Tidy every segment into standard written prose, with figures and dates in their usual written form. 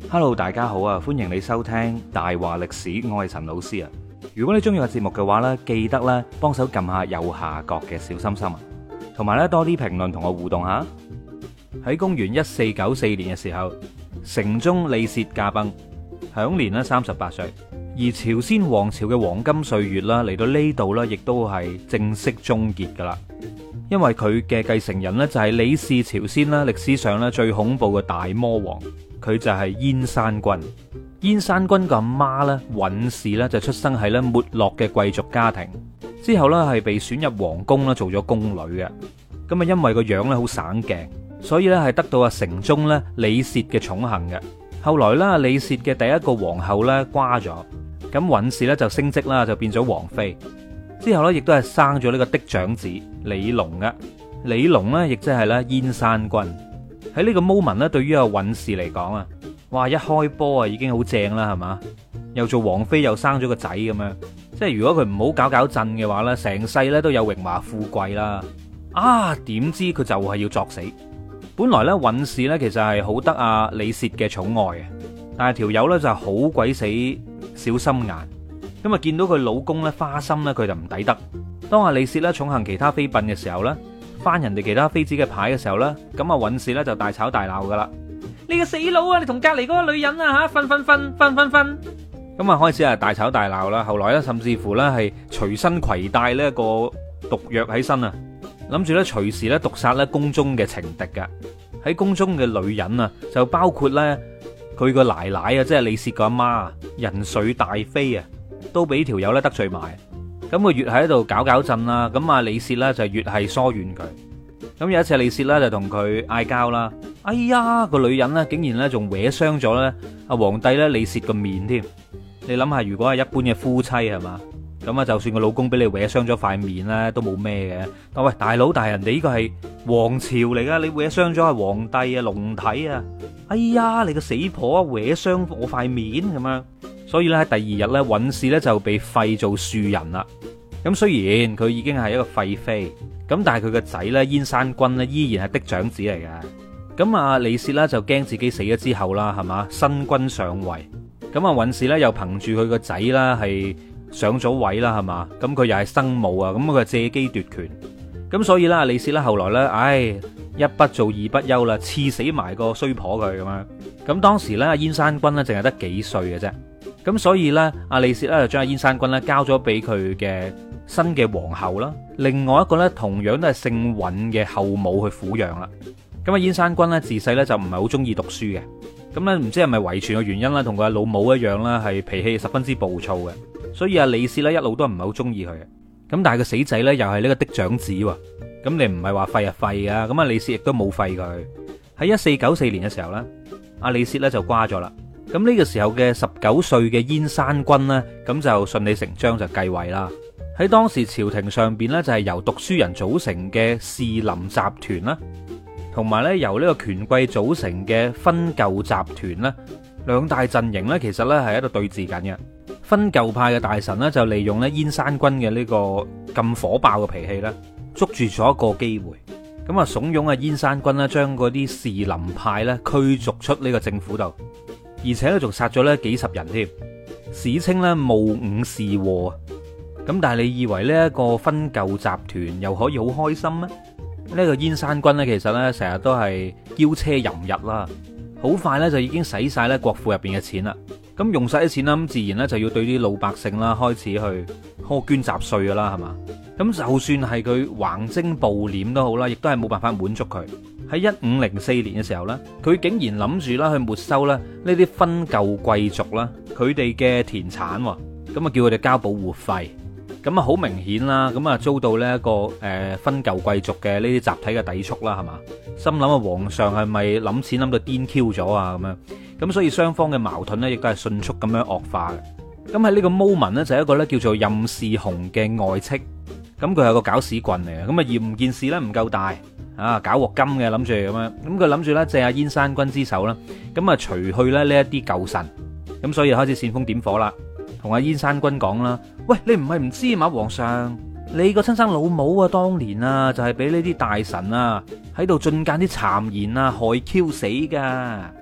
Hello，大家好啊！歡迎你收聽大話歷史，我係陳老師啊。如果你中意個節目嘅話呢，記得咧幫手撳下右下角嘅小心心啊，同埋咧多啲評論同我互動下。喺公元1494年嘅時候，成宗李涉駕崩，享年咧38歲。而朝鮮王朝嘅黃金歲月啦，嚟到呢度咧，亦都係正式終結噶啦。因為佢嘅繼承人呢，就係李氏朝鮮啦，歷史上咧最恐怖嘅大魔王，佢就係燕山君。燕山君個阿媽咧尹氏咧就出生喺咧沒落嘅貴族家庭，之後咧係被選入皇宮啦，做咗宮女嘅。咁啊，因為個樣咧好省鏡，所以咧係得到阿成宗咧李涉嘅寵幸嘅。後來咧李涉嘅第一個皇后咧瓜咗，咁尹氏咧就升職啦，就變咗皇妃。之後咧亦都係生咗呢個嫡長子李隆嘅。李隆咧亦即係咧燕山君。喺呢個 moment 咧，對於阿尹氏嚟講啊，哇，一開波啊已經好正啦，係嘛？又做皇妃又生咗個仔咁樣，即係如果佢唔好搞搞震嘅話咧，成世咧都有榮華富貴啦。啊，點知佢就係要作死。本來咧尹氏咧其實係好得阿李涉嘅寵愛嘅，但係條友咧就好鬼死小心眼。咁啊見到佢老公咧花心咧，佢就唔抵得。當阿李涉咧寵幸其他妃嬪嘅時候咧，翻人哋其他妃子嘅牌嘅時候咧，咁啊尹氏咧就大吵大鬧噶啦。你個死佬啊！你同隔籬嗰個女人啊吓，瞓。咁啊開始係大吵大鬧啦。後來咧甚至乎咧係隨身攜帶呢一個毒藥喺身啊，諗住咧隨時咧毒殺咧宮中嘅情敵噶。喺宮中嘅女人啊，就包括咧佢個奶奶啊，即係李涉個阿媽仁粹大妃啊，都俾條友咧得罪埋。咁佢越喺度搞震啦，咁啊李涉咧就越係疏遠佢。咁有一次李涉咧就同佢嗌交啦，哎呀個女人咧竟然咧仲搲傷咗咧阿皇帝咧李涉個面添。你諗下，如果係一般嘅夫妻係嘛，咁啊就算個老公俾你搲傷咗塊面咧都冇咩嘅。但喂大佬，但係人哋呢個係皇朝嚟噶，你搲傷咗係皇帝啊龍體啊，哎呀你個死婆搲傷我塊面咁樣。所以咧喺第二日咧尹氏咧就被廢做庶人啦。咁雖然佢已經係一個廢妃，咁但係佢個仔咧燕山君咧依然係嫡長子嚟嘅。咁啊李涉咧就驚自己死咗之後啦，係嘛，新君上位，咁啊尹氏咧又憑住佢個仔啦係上咗位啦，係嘛，咁佢又係生母啊，咁佢借機奪權。咁所以咧李涉咧後來咧，一不做二不休啦，刺死埋個衰婆佢咁樣。咁當時咧燕山君咧淨係得幾歲嘅啫。咁所以咧，阿李涉咧就將阿燕山君咧交咗俾佢嘅新嘅皇后啦，另外一個咧同樣都係姓尹嘅後母去撫養啦。咁阿燕山君咧自細咧就唔係好中意讀書嘅，咁咧唔知係咪遺傳嘅原因啦，同佢阿老母一樣啦，係脾氣十分之暴躁嘅，所以阿李涉咧一路都唔係好中意佢嘅。咁但係個死仔咧又係呢個嫡長子喎，咁你唔係話廢就廢啊，咁阿李涉亦都冇廢佢。喺1494年嘅時候咧，阿李涉咧就瓜咗啦。咁呢個時候嘅19歲嘅燕山君呢，咁就順理成章就繼位啦。喺當時朝廷上邊呢，就係由讀書人組成嘅士林集團啦，同埋呢由呢個權貴組成嘅分舊集團啦，兩大陣營呢，其實呢係喺度對峙緊嘅。分舊派嘅大臣呢，就利用呢燕山君嘅呢個咁火爆嘅脾氣呢，捉住咗一個機會，咁啊慫恿啊燕山君呢，將嗰啲士林派呢驅逐出呢個政府度。而且咧仲殺咗咧幾十人添，史稱咧戊午士禍。咁但係你以為呢一個分舊集團又可以好開心咩？呢個燕山君咧其實咧成日都係驕奢淫逸啦，好快咧就已經使晒咧國庫入邊嘅錢啦。咁用晒啲錢啦，咁自然咧就要對啲老百姓啦開始去苛捐雜稅噶啦，係嘛？咁就算係佢橫徵暴斂都好啦，亦都係冇辦法滿足佢。喺1504年嘅時候呢，佢竟然諗住啦去沒收啦呢啲分舊貴族啦佢哋嘅田產，咁啊叫佢哋交保護費。咁啊好明顯啦，咁啊遭到呢一個分舊貴族嘅呢啲集體嘅抵觸啦，係嘛？心諗啊皇上係咪諗錢諗到癲 Q 咗啊咁樣？咁所以雙方嘅矛盾呢，亦都係迅速咁樣惡化嘅。咁喺呢個 moment 呢，就係一個咧叫做任士雄嘅外戚，咁佢係個搞屎棍嚟嘅，咁啊嫌件事咧唔夠大。搞鑊金嘅諗住咁樣，咁佢諗住咧借阿燕山君之手啦，咁啊除去咧呢一啲舊臣，咁所以開始煽風點火啦，同阿燕山君講啦，喂，你唔係唔知嘛，皇上，你個親生老母啊，當年啊就係俾呢啲大臣啊喺度進諫啲讒言啊害 Q 死噶，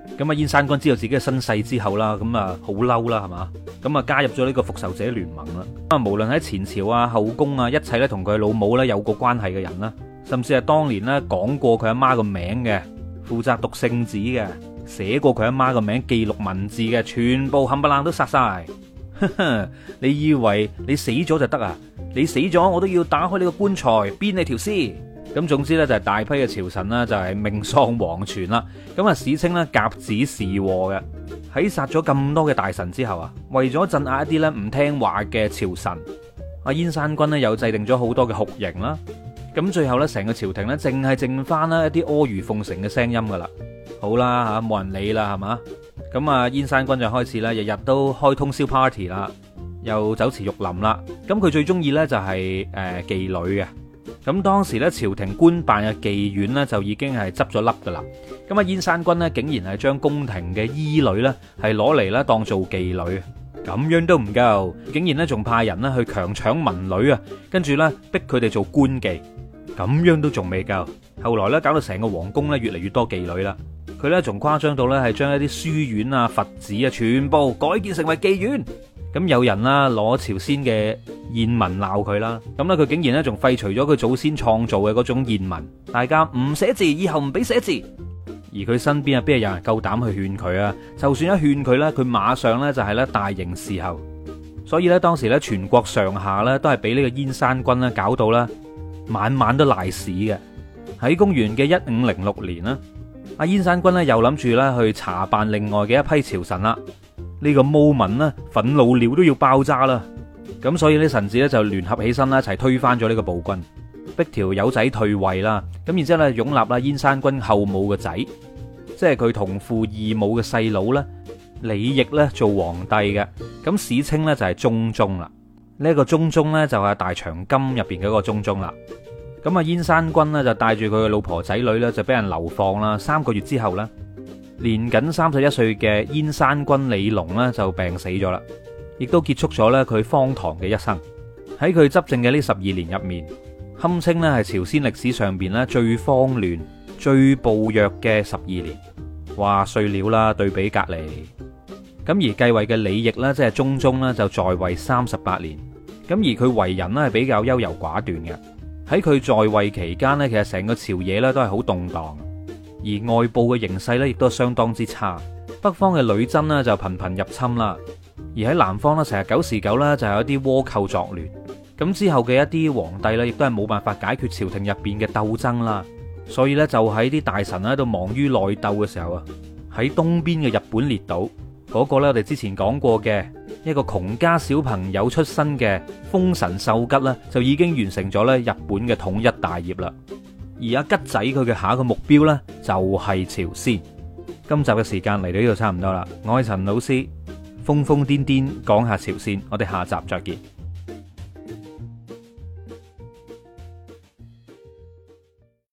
咁啊，燕山君知道自己嘅身世之後啦，咁啊好嬲啦，係嘛？咁啊加入咗呢個復仇者聯盟啦。啊，無論喺前朝啊、後宮啊，一切咧同佢老母咧有過關係嘅人啦，甚至係當年咧講過佢阿媽個名嘅，負責讀聖旨嘅，寫過佢阿媽個名記錄文字嘅，全部冚唪唥都殺晒。你以為你死咗就得啊？你死咗我都要打開你個棺材鞭你條屍。咁總之咧就係大批嘅朝臣啦，就係命喪黃泉啦。咁啊史稱咧甲子時禍嘅。喺殺咗咁多嘅大臣之後啊，為咗鎮壓一啲咧唔聽話嘅朝臣，阿燕山君咧又制定咗好多嘅酷刑啦。咁最後咧成個朝廷咧淨係剩翻啦一啲阿諛奉承嘅聲音噶啦。好啦吓，冇人理啦係嘛。咁啊燕山君就開始啦，日日都開通宵 party 啦，又酒池肉林啦。咁佢最中意咧就係妓女嘅。咁當時咧朝廷官辦嘅妓院咧就已經係執咗笠噶啦。咁啊燕山君咧竟然係將宮廷嘅醫女咧係攞嚟咧當做妓女，咁樣都唔夠，竟然咧仲派人咧去強搶民女啊，跟住咧逼佢哋做官妓，咁樣都仲未夠。後來咧搞到成個皇宮咧越嚟越多妓女啦。佢咧仲誇張到咧係將一啲書院啊、佛寺啊全部改建成為妓院。咁有人啦攞朝鮮嘅諺文鬧佢啦，咁咧佢竟然咧仲廢除咗佢祖先創造嘅嗰種諺文，大家唔寫字，以後唔俾寫字。而佢身邊啊邊係有人夠膽去勸佢啊？就算一勸佢咧，佢馬上咧就係咧大刑伺候。所以咧當時咧全國上下咧都係俾呢個燕山君咧搞到啦，晚晚都賴屎嘅。喺公元嘅1506年啦，阿燕山君咧又諗住咧去查辦另外嘅一批朝臣啦。呢個毛民呢，憤怒了都要爆炸啦，咁所以呢臣子咧就聯合起身啦，一齊推翻咗呢個暴君，逼條友仔退位啦。咁然之後咧擁立啦燕山君後母嘅仔，即係佢同父異母嘅細佬咧李毅咧做皇帝嘅。咁史稱咧就係中宗啦。呢一個中宗咧就係大長今入邊嘅一個中宗啦。咁啊燕山君呢，就帶住佢嘅老婆仔女咧就俾人流放啦。3個月之後咧，年僅31歲嘅燕山君李隆呢就病死咗啦，亦都結束咗咧佢荒唐嘅一生。喺佢執政嘅呢12年入面，堪稱咧係朝鮮歷史上邊咧最慌亂、最暴虐嘅12年。哇，碎料啦，對比隔籬。咁而繼位嘅李毅呢，即係中宗呢，就在位38年。咁而佢為人呢係比較優柔寡斷嘅。喺佢在位期間呢，其實成個朝野咧都係好動盪。而外部嘅形勢咧，亦都相當之差。北方嘅女真呢，就頻頻入侵啦，而喺南方呢，成日久時久呢，就有一啲倭寇作亂。咁之後嘅一啲皇帝呢，亦都係冇辦法解決朝廷入邊嘅鬥爭啦。所以呢，就喺啲大臣喺度忙於內鬥嘅時候啊，喺東邊嘅日本列島嗰個呢，我哋之前講過嘅一個窮家小朋友出身嘅豐臣秀吉呢，就已經完成咗咧日本嘅統一大業啦。而阿吉仔佢嘅下一個目標呢，就係朝鮮。今集嘅時間嚟到呢度差唔多啦，我係陳老師，瘋瘋癲癲講下朝鮮，我哋下集再見。